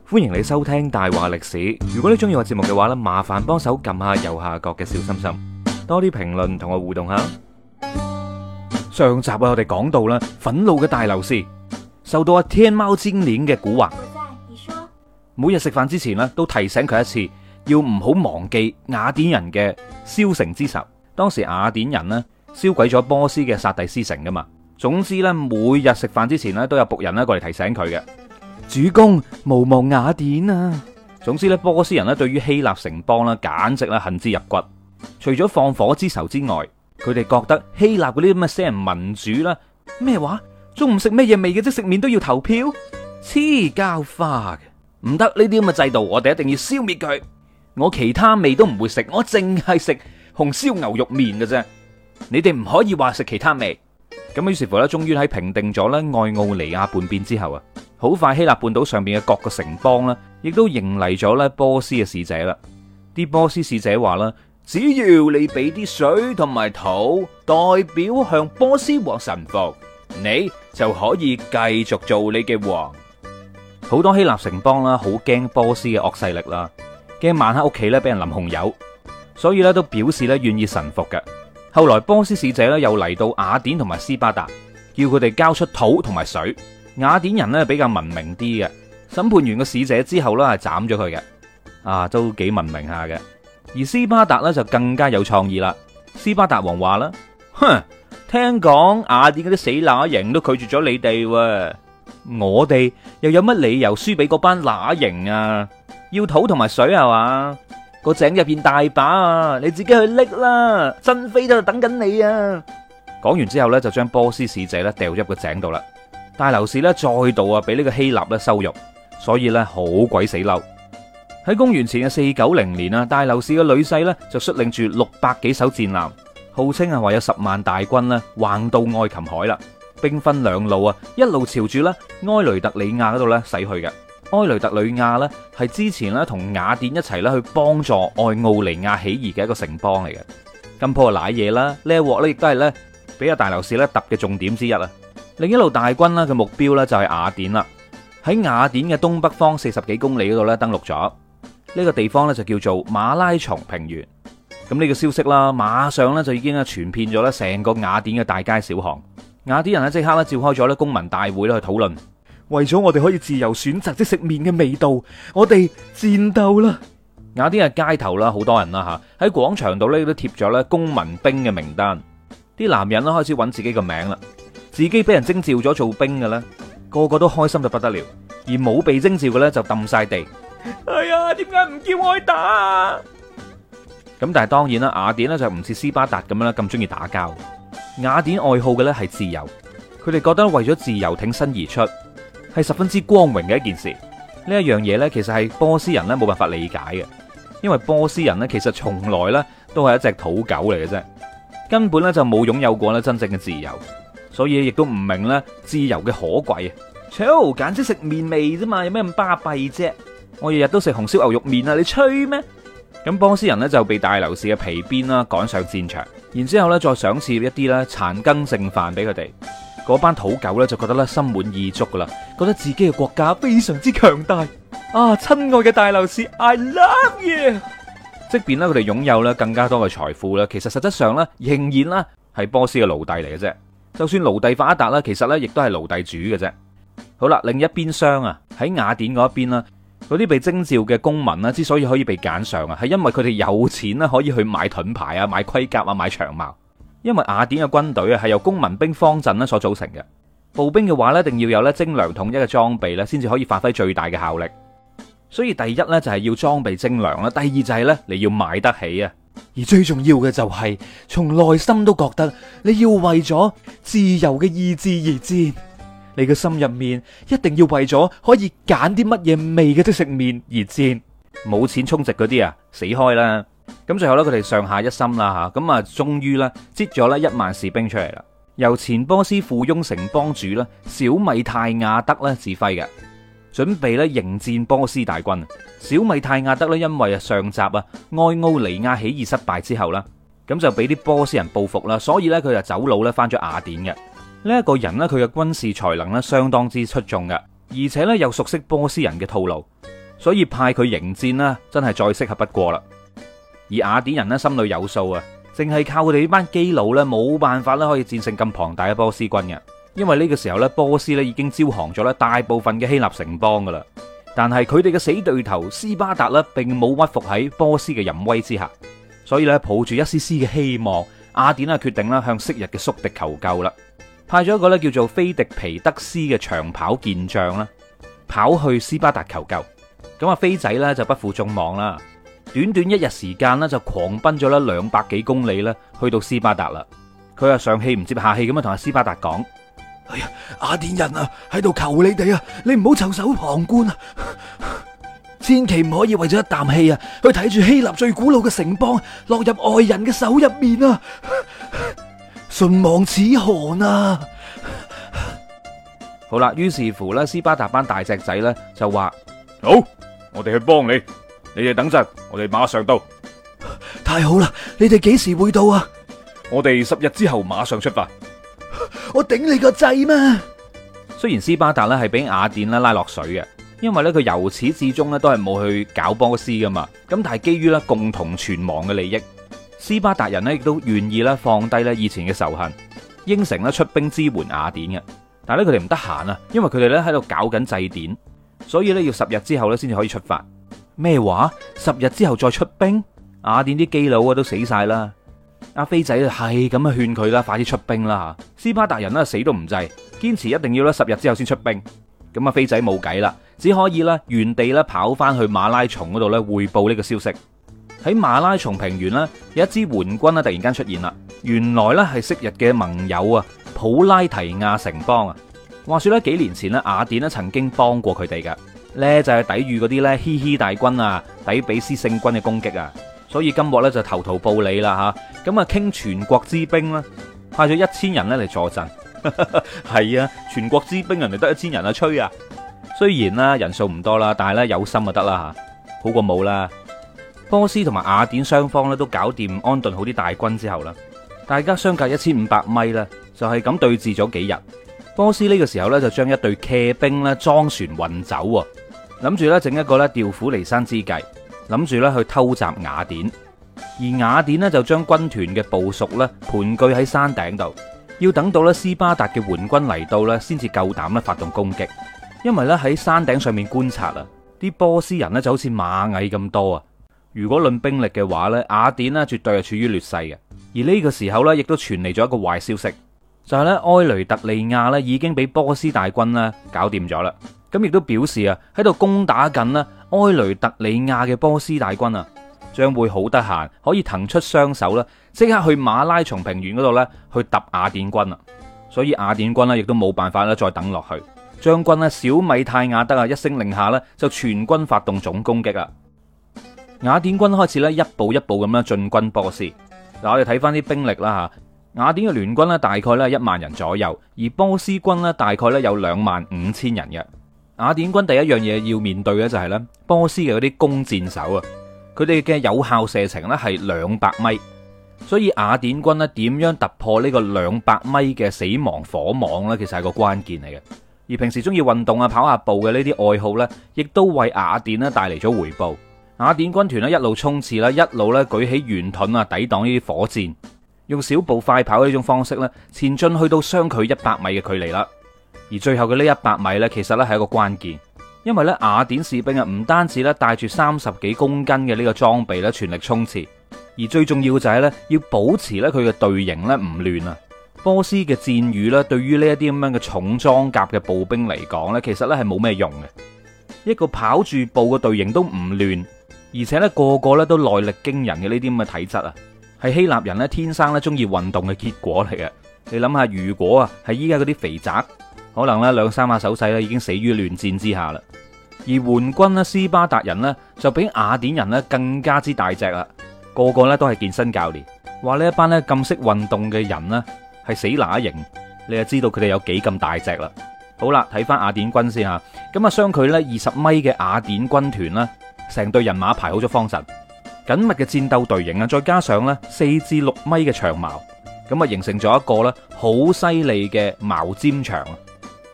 歡迎你收聽大話歷史。如果你中意我節目嘅話呢，麻煩幫手撳下右下角嘅小心心，多啲評論同我互動下。上集我哋講到啦，憤怒嘅大流士受到天貓精靈嘅蠱惑，每日食飯之前呢都提醒佢一次，要唔好忘記雅典人嘅燒城之仇。當時雅典人呢燒毀咗波斯嘅薩蒂斯城噶嘛。總之呢，每日食飯之前呢都有僕人呢過嚟提醒佢嘅。主公，無忘雅典啊！總之咧，波斯人咧對於希臘城邦咧，簡直咧恨之入骨。除咗放火之仇之外，佢哋覺得希臘嗰啲咁嘅死人民主啦，咩話？中午食咩嘢味嘅即食麵都要投票？黐膠花嘅，唔得！呢啲咁嘅制度，我哋一定要消滅佢。我其他味都唔會食，我淨係食紅燒牛肉麵嘅啫。你哋唔可以話食其他味。咁於是乎咧，終於喺平定咗咧愛奧尼亞叛變之後啊，好快希臘半島上邊嘅各個城邦咧，亦都迎嚟咗咧波斯嘅使者啦。啲波斯使者話啦，只要你俾啲水同埋土，代表向波斯王臣服，你就可以繼續做你嘅王。好多希臘城邦啦，好驚波斯嘅惡勢力啦，驚晚黑屋企咧俾人淋紅油，所以咧都表示咧願意臣服嘅。後來波斯使者咧又嚟到雅典同埋斯巴達，叫佢哋交出土同埋水。雅典人咧比較文明啲嘅，審判完個使者之後咧係斬咗佢嘅，都幾文明下嘅。而斯巴達咧就更加有創意啦。斯巴達王話啦，哼，聽講雅典嗰啲死乸型都拒絕咗你哋喎，我哋又有乜理由輸俾嗰班乸型啊？要土同埋水係嘛？個井入邊大把啊，你自己去拎啦，珍妃都等緊你啊！講完之後咧，就將波斯使者咧掉咗入個井度啦。大流士咧再度俾呢個希臘咧羞辱，所以咧好鬼死嬲。喺公元前嘅490年啊，大流士嘅女婿咧就率領住600幾艘戰艦，號稱係話有10萬大軍咧橫渡愛琴海啦，兵分兩路啊，一路朝住咧埃雷特里亞嗰度咧駛去嘅。埃雷特里亞咧係之前咧同雅典一齊咧去幫助愛奧尼亞起義嘅一個城邦嚟嘅。咁破瀨嘢啦，呢一鑊咧亦都係咧俾阿大流士咧揼嘅重點之一啊。另一路大軍啦嘅目標咧就係雅典啦。喺雅典嘅東北方40幾公里嗰度咧登陸咗，呢個地方咧就叫做馬拉松平原。咁呢個消息啦，馬上咧就已經傳遍咗咧成個雅典嘅大街小巷。雅典人咧即刻咧召開咗咧公民大會咧去討論。為咗我哋可以自由選擇即食麵嘅味道，我哋戰鬥啦！雅典嘅街頭啦，好多人啦吓，喺廣場度咧都貼咗咧公民兵嘅名單。啲男人啦開始揾自己個名啦，自己俾人徵召咗做兵嘅咧，個個都開心到不得了；而冇被徵召嘅咧就揼晒地。哎呀，點解唔叫我去打啊？咁但係當然啦，雅典咧就唔似斯巴達咁樣啦，咁中意打交。雅典愛好嘅咧係自由，佢哋覺得為咗自由挺身而出，係十分之光榮嘅一件事。呢一樣嘢呢，其實係波斯人呢冇辦法理解嘅，因為波斯人呢其實從來呢都係一隻土狗嚟嘅啫，根本呢就冇擁有過呢真正嘅自由，所以亦都唔明呢自由嘅可貴啊！操，簡直食麵味啫嘛，有咩咁巴閉啫？我日日都食紅燒牛肉麵啊，你吹咩？咁波斯人呢就被大流士嘅皮鞭啦趕上戰場，然之後呢再賞賜一啲呢殘羹剩飯俾佢哋。嗰班土狗咧就覺得咧心滿意足噶啦，覺得自己嘅國家非常之強大啊！親愛嘅大流士 ，I love you。即便咧佢哋擁有咧更加多嘅財富咧，其實實質上咧仍然咧係波斯嘅奴隸嚟嘅啫。就算奴隸發達啦，其實咧亦都係奴隸主嘅啫。好啦，另一邊廂啊，喺雅典嗰一邊啦，嗰啲被徵召嘅公民啦，之所以可以被揀上啊，係因為佢哋有錢啦，可以去買盾牌啊、買盔甲啊、買長矛。因為雅典嘅軍隊啊係由公民兵方陣咧所組成嘅，步兵嘅話咧一定要有咧精良統一嘅裝備咧，先至可以發揮最大嘅效力。所以第一咧就係要裝備精良啦，第二就係咧你要買得起啊，而最重要嘅就係從內心都覺得你要為咗自由嘅意志而戰，你嘅心入面一定要為咗可以揀啲乜嘢味嘅即食麵而戰。冇錢充值嗰啲啊，死開啦！咁最後咧，佢哋上下一心啦吓，咁啊，終於咧擠咗咧1萬士兵出嚟啦，由前波斯附庸城邦主啦小米泰亞德咧指揮嘅，準備咧迎戰波斯大軍。小米泰亞德咧因為上集啊愛奧尼亞起義失敗之後啦，咁就俾啲波斯人報復啦，所以咧佢就走佬咧翻咗雅典嘅。呢一個人咧佢嘅軍事才能咧相當之出眾嘅， 而且咧又熟悉波斯人嘅套路，所以派佢迎戰啦，真係再適合不過啦。而雅典人咧心裏有數啊，淨係靠佢哋呢班基佬咧冇辦法咧可以戰勝咁龐大嘅波斯軍嘅，因為呢個時候咧波斯咧已經招降咗咧大部分嘅希臘城邦噶啦。但係佢哋嘅死對頭斯巴達咧並冇屈服喺波斯嘅淫威之下，所以咧抱住一絲絲嘅希望，雅典啊決定啦向昔日嘅宿敵求救啦，派咗一個咧叫做菲迪皮德斯嘅長跑健將啦，跑去斯巴達求救。咁啊飛仔咧就不負眾望啦，短短一日時間咧就狂奔咗啦200幾公里咧去到斯巴達啦。佢啊上氣唔接下氣咁樣同阿斯巴達講：哎呀，雅典人啊，喺度求你哋啊，你唔好袖手旁觀啊！千祈唔可以為咗一啖氣啊，去睇住希臘最古老嘅城邦落入外人嘅手入面啊！唇亡齒寒啊！好啦，於是乎咧，斯巴達班大隻仔咧就話：好，我哋去幫你，你哋等陣，我哋馬上到。太好啦！你哋幾時會到啊？我哋10日之後馬上出發。我頂你個掣咩？雖然斯巴達咧係俾雅典咧拉落水嘅，因為咧佢由始至終咧都係冇去搞波斯噶嘛。咁但係基於咧共同存亡嘅利益，斯巴達人咧亦都願意咧放低咧以前嘅仇恨，應承咧出兵支援雅典嘅。但係咧佢哋唔得閒啊，因為佢哋咧喺度搞緊祭典，所以咧要10日之後咧先至可以出發。咩話？10日之後再出兵？雅典啲基佬啊都死晒啦！阿飛仔係咁啊勸佢啦，快啲出兵啦！斯巴達人咧死都唔制，堅持一定要咧10日之後先出兵。咁啊飛仔冇計啦，只可以咧原地咧跑翻去馬拉松嗰度咧匯報呢個消息。喺馬拉松平原咧有一支援軍咧突然間出現啦，原來咧係昔日嘅盟友啊，普拉提亞城邦啊。話說咧幾年前咧雅典咧曾經幫過佢哋噶，咧就係抵禦嗰啲咧希希大軍啊、底比斯聖軍嘅攻擊啊。所以今鑊咧就投桃報李啦吓，咁啊傾全國之兵啦，派咗1000人咧嚟助陣。係啊，全國之兵人哋得1000人啊，吹啊！雖然啦人數唔多啦，但係咧有心就得啦吓，好過冇啦。波斯同埋雅典雙方咧都搞掂安頓好啲大軍之後啦，大家相隔1500米啦，就係咁對峙咗幾日。波斯呢個時候咧就將一隊騎兵咧裝船運走，諗住咧整一個咧調虎離山之計。諗住咧去偷襲雅典，而雅典呢就將軍團嘅部屬咧盤踞喺山頂度，要等到咧斯巴達嘅援軍嚟到咧，先至夠膽咧發動攻擊。因為咧喺山頂上面觀察啊，啲波斯人咧就好似螞蟻咁多啊。如果論兵力嘅話咧，雅典呢絕對係處於劣勢嘅。而呢個時候咧，亦都傳嚟咗一個壞消息，就係咧埃雷特利亞咧已經俾波斯大軍咧搞掂咗啦。咁亦都表示啊，喺度攻打緊咧埃雷特里亞嘅波斯大軍啊，將會好得閒，可以騰出雙手啦，即刻去馬拉松平原嗰度咧去揼雅典軍啊！所以雅典軍咧亦都冇辦法咧再等落去，將軍咧小米泰亞德啊一聲令下咧就全軍發動總攻擊啊！雅典軍開始咧一步一步咁樣進軍波斯。嗱，我哋睇翻啲兵力啦吓，雅典嘅聯軍咧大概咧1萬人左右，而波斯軍咧大概咧有25000人嘅。雅典軍第一樣嘢要面對嘅就係咧波斯嘅嗰啲弓箭手啊，佢哋嘅有效射程咧係200米，所以雅典軍咧點樣突破呢個200米嘅死亡火網呢？其實係個關鍵嚟嘅。而平時中意運動啊、跑下步嘅呢啲愛好呢，亦都為雅典咧帶嚟咗回報。雅典軍團咧一路衝刺啦，一路咧舉起圓盾啊，抵擋呢啲火箭，用小步快跑呢種方式咧前進去到相距100米嘅距離啦。而最後嘅呢100米呢，其實呢係一個關鍵，因為呢雅典士兵啊唔單止咧帶住30幾公斤嘅呢個裝備咧全力衝刺，而最重要嘅就係呢要保持呢佢嘅隊形呢唔亂啊。波斯嘅箭雨呢對於呢一啲咁樣嘅重裝甲嘅步兵嚟講呢，其實呢係冇咩用嘅。一個跑住步嘅隊形都唔亂，而且呢個個呢都耐力驚人嘅呢啲咁嘅體質啊，係希臘人呢天生呢中意運動嘅結果嚟嘅。你諗下，如果啊係依家嗰啲肥宅，可能咧2-3下手勢咧已經死於亂戰之下啦。而援軍咧斯巴達人呢，就比雅典人咧更加之大隻啦，個個咧都係健身教練。話呢一班咧咁識運動嘅人呢，係死乸型，你就知道佢哋有幾咁大隻啦。好啦，睇翻雅典軍先吓，咁啊相距咧20米嘅雅典軍團啦，成隊人馬排好咗方陣，緊密嘅戰鬥隊形啊，再加上咧4至6米嘅長矛，咁啊形成咗一個咧好犀利嘅矛尖牆。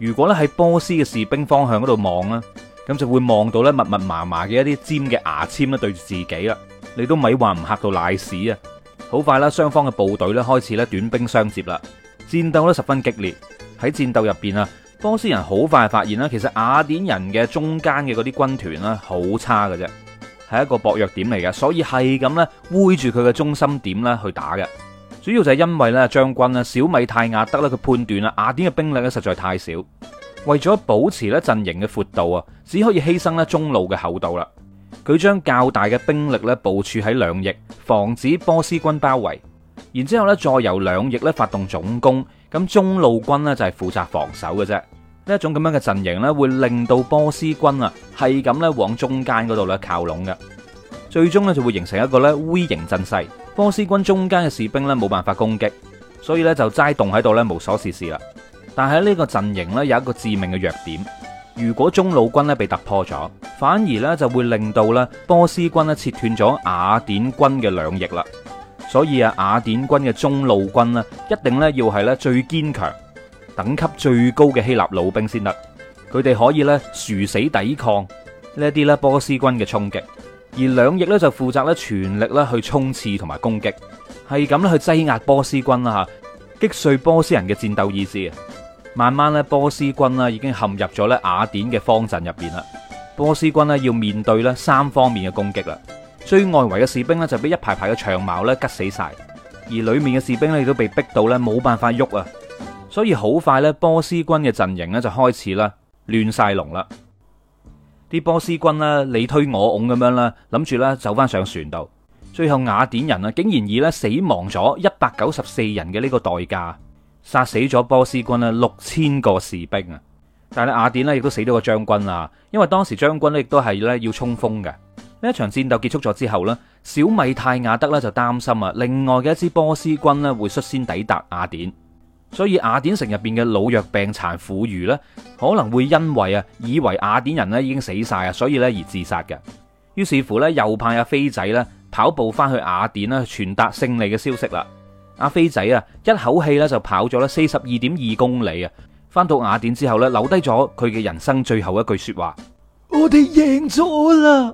如果咧喺波斯嘅士兵方向嗰度望啦，咁就會望到咧密密麻麻嘅一啲尖嘅牙籤咧對住自己啦。你都咪話唔嚇到瀨屎啊！好快啦，雙方嘅部隊咧開始咧短兵相接啦，戰鬥咧十分激烈。喺戰鬥入邊啊，波斯人好快發現啦，其實雅典人嘅中間嘅嗰啲軍團咧好差嘅啫，係一個薄弱點嚟嘅，所以係咁咧圍住佢嘅中心點咧去打嘅。主要就係因為咧將軍啊小米泰亞德咧佢判斷啊雅典嘅兵力咧實在太少，為咗保持咧陣營嘅闊度啊，只可以犧牲咧中路嘅厚度啦。佢將較大嘅兵力咧部署喺兩翼，防止波斯軍包圍。然之後咧再由兩翼咧發動總攻，咁中路軍咧就係負責防守嘅啫。呢一種咁樣嘅陣營咧，會令到波斯軍啊係咁咧往中間嗰度咧靠攏嘅，最終咧就會形成一個咧 V 型陣勢。波斯軍中間嘅士兵咧冇辦法攻擊，所以咧就齋凍喺度咧無所事事啦。但係呢個陣營咧有一個致命嘅弱點，如果中路軍咧被突破咗，反而咧就會令到咧波斯軍咧切斷咗雅典軍嘅兩翼啦。所以啊，雅典軍嘅中路軍咧一定咧要係咧最堅強、等級最高嘅希臘老兵先得，佢哋可以咧殊死抵抗呢一啲咧波斯軍嘅衝擊，而兩翼咧就負責咧全力咧去衝刺同埋攻擊，係咁咧去擠壓波斯軍啦吓，擊碎波斯人嘅戰鬥意志。慢慢咧波斯軍啦已經陷入咗咧雅典嘅方陣入邊啦，波斯軍咧要面對咧三方面嘅攻擊啦。最外圍嘅士兵咧就俾一排排嘅長矛咧吉死晒，而裏面嘅士兵咧亦都被逼到咧冇辦法喐啊，所以好快咧波斯軍嘅陣營咧就開始啦亂晒龍啦。啲波斯軍咧你推我拱咁樣啦，諗住咧走翻上船度，最後雅典人啊竟然以咧死亡咗194人嘅呢個代價殺死咗波斯軍咧6000個士兵啊！但係雅典咧亦都死咗個將軍啊，因為當時將軍咧亦都係咧要衝鋒嘅。呢一場戰鬥結束咗之後呢，小米泰亞德咧就擔心啊，另外嘅一支波斯軍咧會率先抵達雅典，所以雅典城入邊嘅老弱病殘婦孺呢，可能會因為啊以為雅典人咧已經死晒啊，所以咧而自殺嘅。於是乎咧，又派阿飛仔咧跑步翻去雅典啦，傳達勝利嘅消息啦。阿飛仔啊，一口氣咧就跑咗咧42.2公里啊，翻到雅典之後咧，留低咗佢嘅人生最後一句說話：我哋贏咗啦！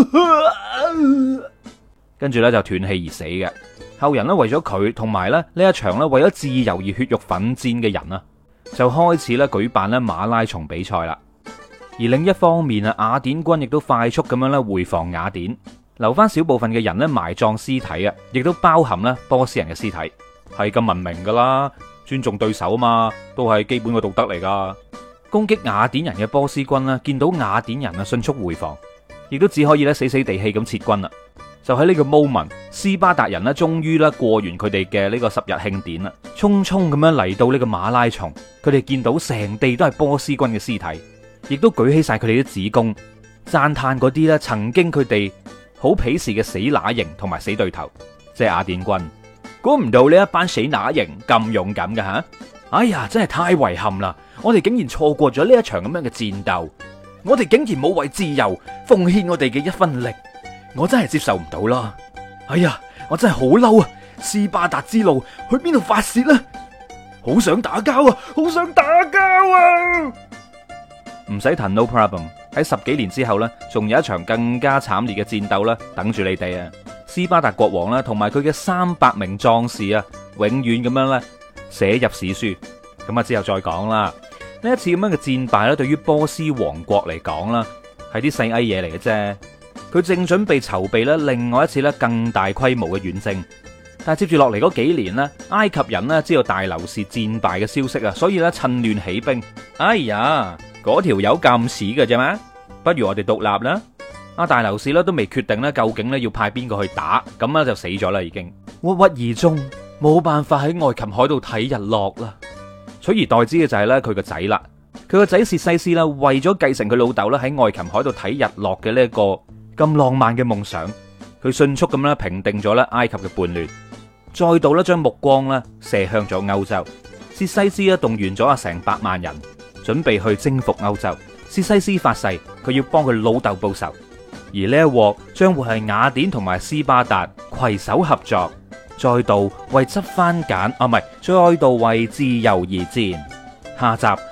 跟住咧就斷氣而死嘅。後人咧為咗佢同埋咧呢一場咧為咗自由而血肉奮戰嘅人啊，就開始咧舉辦咧馬拉松比賽啦。而另一方面啊，雅典軍亦都快速咁樣咧回防雅典，留翻少部分嘅人咧埋葬屍體啊，亦都包含咧波斯人嘅屍體。係咁文明噶啦，尊重對手嘛，都係基本嘅道德嚟噶。攻擊雅典人嘅波斯軍啦，見到雅典人啊迅速回防，亦都只可以咧死死地氣咁撤軍啦。就喺呢個 moment， 斯巴達人咧終於咧過完佢哋嘅呢個10日慶典啦，匆匆咁樣嚟到呢個馬拉松，佢哋見到成地都係波斯軍嘅屍體，亦都舉起晒佢哋啲指弓，讚嘆嗰啲咧曾經佢哋好鄙視嘅死乸型同埋死對頭，即係雅典軍。估唔到呢一班死乸型咁勇敢㗎吓！哎呀，真係太遺憾啦！我哋竟然錯過咗呢一場咁樣嘅戰鬥，我哋竟然冇為自由奉獻我哋嘅一分力，我真係接受唔到啦！哎呀，我真係好嬲啊！斯巴達之路去邊度發洩呢？好想打交啊！好想打交啊！唔使談 no problem。喺10幾年之後呢，仲有一場更加慘烈嘅戰鬥啦，等住你哋啊！斯巴達國王啦，同埋佢嘅300名壯士啊，永遠咁樣咧寫入史書。咁啊之後再講啦。呢一次咁樣嘅戰敗咧，對於波斯王國嚟講啦，係啲細埃嘢嚟嘅啫。佢正準備籌備咧另外一次咧更大規模嘅遠征，但係接住落嚟嗰幾年呢，埃及人呢知道大流士戰敗嘅消息啊，所以咧趁亂起兵。哎呀，嗰條友咁屎嘅啫嘛，不如我哋獨立啦。阿大流士咧都未決定咧究竟咧要派邊個去打，咁咧就死咗啦已經。鬱鬱而終，冇辦法喺愛琴海度睇日落啦。取而代之嘅就係咧佢個仔啦，佢個仔薛西斯啦，為咗繼承佢老豆咧喺愛琴海度睇日落嘅呢一個咁浪漫嘅夢想，佢迅速咁咧平定咗咧埃及嘅叛亂，再度咧將目光咧射向咗歐洲。薛西斯咧動員咗成百萬人，準備去征服歐洲。薛西斯發誓佢要幫佢老豆報仇。而呢一鑊將會係雅典同埋斯巴達攜手合作，再度為執番簡再度為自由而戰。下集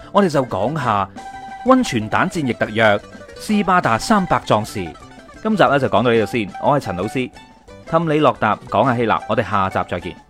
我哋就講下溫泉蛋戰役特約斯巴達300壯士。今集咧就講到呢度先，我係陳老師，氹你落答講下希臘，我哋下集再見。